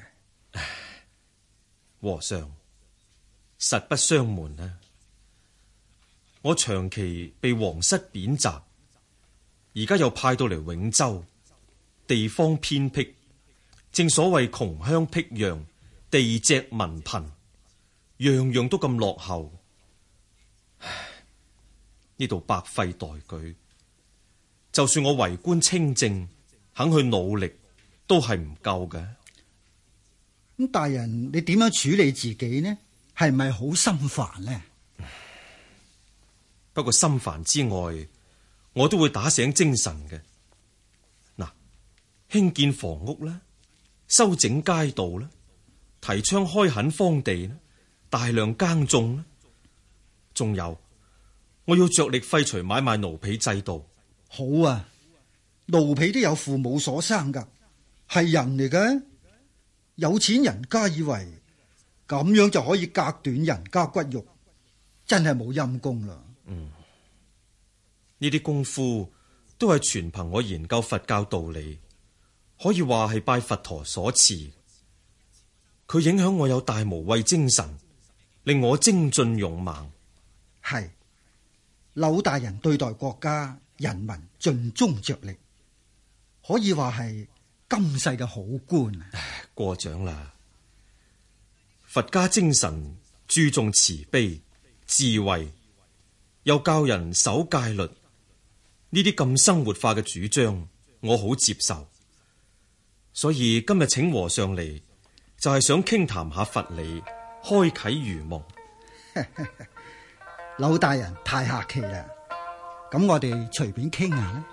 和尚，實不相瞞啊，我長期被皇室貶謫，而家又派到嚟永州，地方偏僻，正所謂窮鄉僻壤，地瘠民貧，樣樣都咁落後。唉，呢度百廢待舉，就算我為官清正，肯去努力，都係唔夠嘅。
咁大人，你點樣處理自己呢？係咪好心煩呢？
不過心煩之外，我都會打醒精神嘅。嗱，興建房屋啦，修整街道啦，提倡開墾荒地啦，大量耕種啦，仲有我要着力廢除買賣奴婢制度。
好啊，奴婢都有父母所生噶，係人嚟嘅。有錢人家以為咁樣就可以隔斷人家骨肉，真係冇陰功啦。
嗯，呢啲功夫都係全憑我研究佛教道理，可以話係拜佛陀所賜。佢影響我有大無畏精神，令我精進勇猛。
係，柳大人對待國家人民盡忠着力，可以話係今世嘅好官。
過獎啦！佛家精神注重慈悲、智慧，又教人守戒律，呢啲咁生活化嘅主張，我好接受。所以今日請和尚嚟，就係想傾談下佛理，開啟愚蒙。
柳大人太客氣啦，咁我哋隨便傾下啦。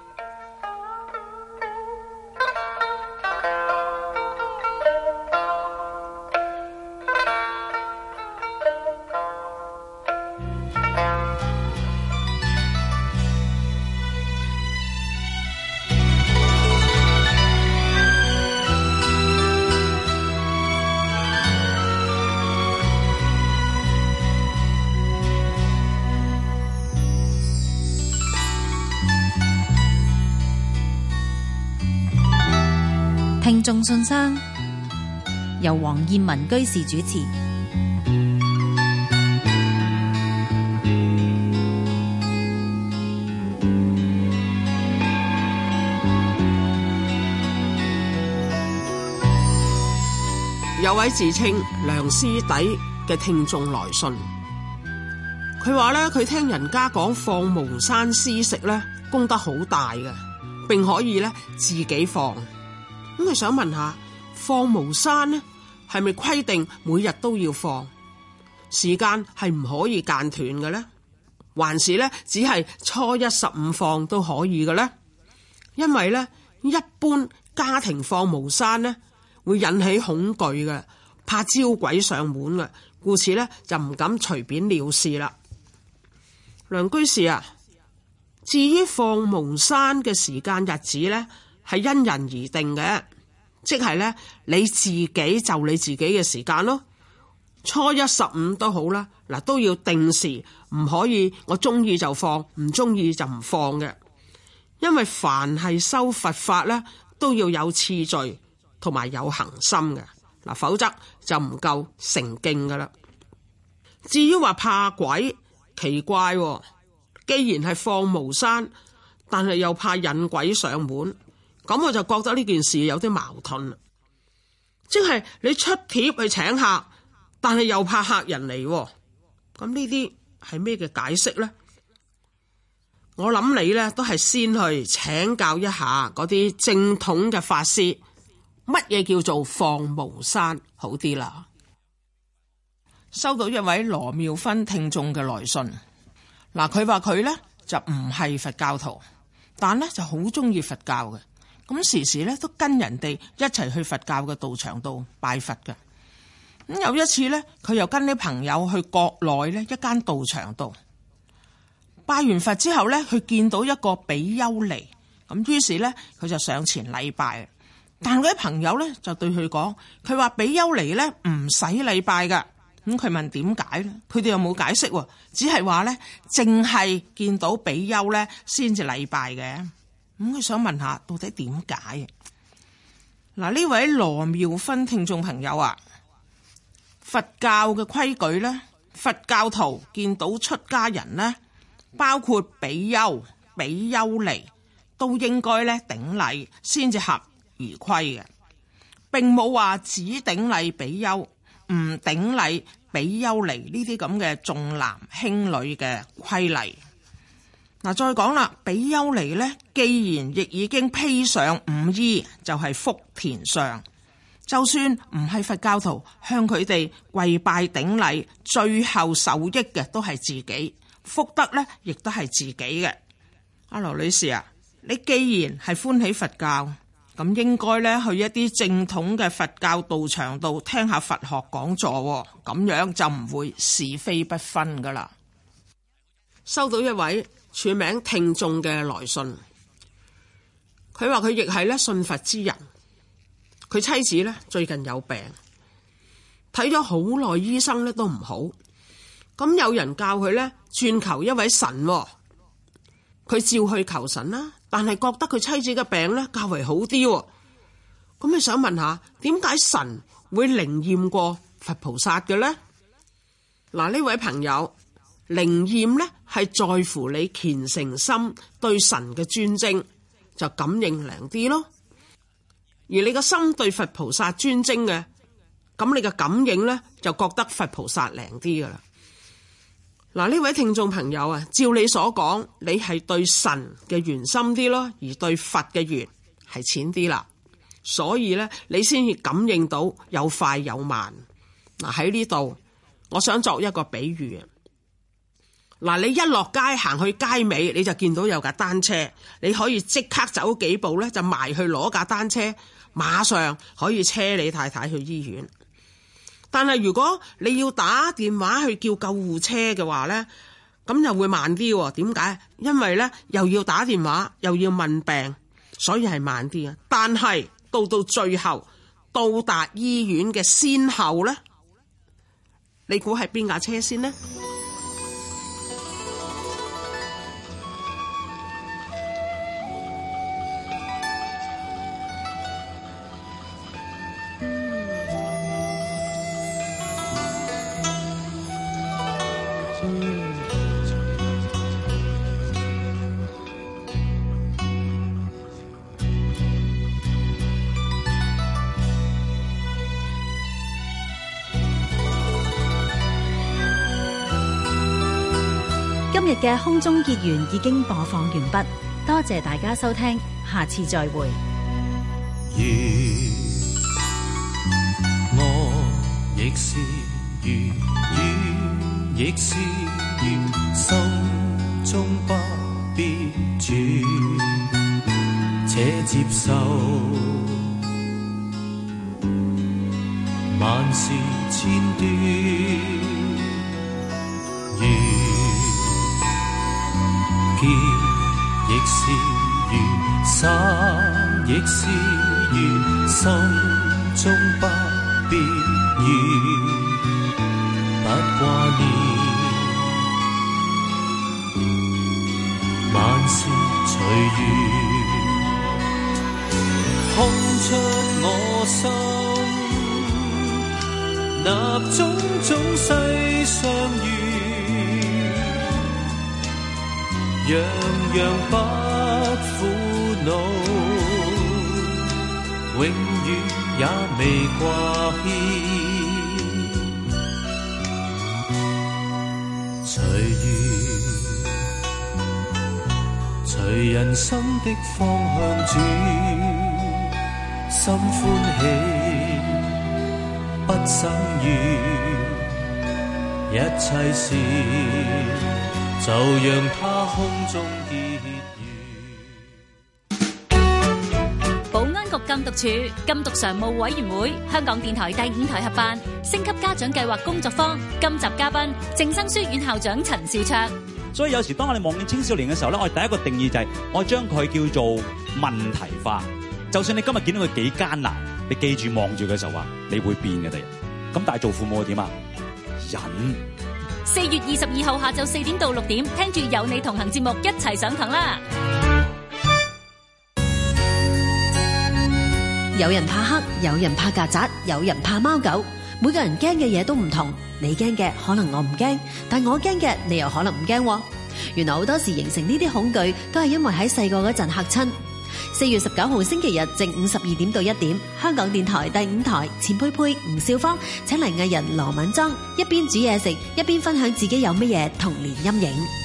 聽眾信箱，由黃燕文居士主持。
有位自稱梁師弟嘅聽眾來信，佢話咧佢聽人家講放無山施食咧功德好大嘅，並可以咧自己放。咁佢想問下，放無山呢係咪規定每日都要放？時間係唔可以間斷嘅呢？還是咧只係初一十五放都可以嘅呢？因為咧一般家庭放無山呢會引起恐懼嘅，怕招鬼上門嘅，故此咧就唔敢隨便了事啦。梁居士啊，至於放無山嘅時間日子咧，係因人而定嘅，即係咧你自己就你自己嘅時間咯。初一十五都好啦，嗱都要定時，唔可以我中意就放，唔中意就唔放嘅。因為凡係修佛法咧，都要有次序同埋有恒心嘅，嗱否則就唔夠成敬噶啦。至於話怕鬼，奇怪喎，既然係放無山，但係又怕引鬼上門。咁我就覺得呢件事有啲矛盾啦，即係你出帖去請客，但係又怕客人嚟，咁呢啲係咩嘅解釋呢？我諗你呢都係先去請教一下嗰啲正統嘅法師，乜嘢叫做放無山好啲啦。收到一位羅妙芬聽眾嘅來信，嗱佢話佢呢就唔係佛教徒。
但呢就好中意佛教嘅，咁時時咧都跟人哋一齊去佛教嘅道場度拜佛嘅。咁有一次咧，佢又跟啲朋友去國內咧一間道場度拜完佛之後咧，佢見到一個比丘尼，咁於是咧佢就上前禮拜。但嗰啲朋友咧就對佢講，佢話比丘尼咧唔使禮拜噶。咁佢問點解咧？佢哋又冇解釋，只係話咧淨係見到比丘咧先至禮拜嘅。咁佢想問下到底點解？嗱，呢位羅妙芬聽眾朋友啊，佛教嘅規矩咧，佛教徒見到出家人咧，包括比丘、比丘尼，都應該咧頂禮先至合而規嘅，並冇話只頂禮比丘，唔頂禮比丘尼呢啲咁嘅重男輕女嘅規例。嗱，再講啦，比丘尼呢，既然亦已經披上五衣，就係福田上，就算唔係佛教徒，向佢哋跪拜頂禮，最後受益嘅都係自己，福德呢亦都係自己嘅。阿羅女士啊，你既然係歡喜佛教，咁應該咧去一啲正統嘅佛教道場度聽下佛學講座，咁樣就唔會是非不分噶啦。收到一位署名聽眾嘅來信，佢話佢亦係咧信佛之人，佢妻子咧最近有病，睇咗好耐醫生咧都唔好，咁有人教佢咧轉求一位神，佢照去求神啦，但係覺得佢妻子嘅病咧較為好啲，咁你想問下點解神會靈驗過佛菩薩嘅咧？嗱，呢位朋友，靈驗咧係在乎你虔誠心對神嘅尊敬，就感應靈啲咯。而你個心對佛菩薩尊敬嘅，咁你嘅感應咧就覺得佛菩薩靈啲噶啦。嗱，呢位聽眾朋友啊，照你所講，你係對神嘅緣深啲咯，而對佛嘅緣係淺啲啦，所以咧你先至感應到有快有慢。嗱，喺呢度，我想作一個比喻啊。嗱，你一落街行去街尾，你就見到有架單車，你可以即刻走幾步咧，就埋去攞架單車，馬上可以車你太太去醫院。但係如果你要打電話去叫救護車嘅話呢，咁又會慢啲喎。點解？因為呢又要打電話又要問病，所以係慢啲啊。但係到到最後到達醫院嘅先後呢，你估係邊架車先呢？
今日嘅空中結緣已經播放完畢，多謝大家收聽，下次再會。
如我亦是如魚亦是魚，心中不必轉，且接受萬事千端。如劍亦是緣，灑亦是緣，心中不必怨，不掛念，萬事隨緣，空出我心，納種種世上緣，樣樣不苦惱，永遠也未掛牽。隨緣，隨人生的方向轉，心歡喜不生怨，一切事就讓它空中結緣。
局禁毒處、禁毒常務委員會、香港電台第五台合辦升級家長計劃工作坊。今集嘉賓正生書院校長陳兆焯。
所以有時當我哋望見青少年嘅時候咧，我哋第一個定義就係我將佢叫做問題化。就算你今日見到佢幾艱難，你記住望住佢就話你會變嘅第日。咁但係做父母點啊？忍。
四月二十二號下晝四點到六點，聽住有你同行節目一齊上堂啦！
有人怕黑，有人怕曱甴，有人怕貓狗，每個人驚嘅嘢都唔同。你驚嘅可能我唔驚，但我驚嘅你又可能唔驚。原來好多時形成呢啲恐懼都係因為喺細個嗰陣嚇親。四月十九號星期日正午十二點到一點，香港電台第五台錢佩佩、吳少芳請嚟藝人羅敏莊，一邊煮嘢食，一邊分享自己有乜嘢童年陰影。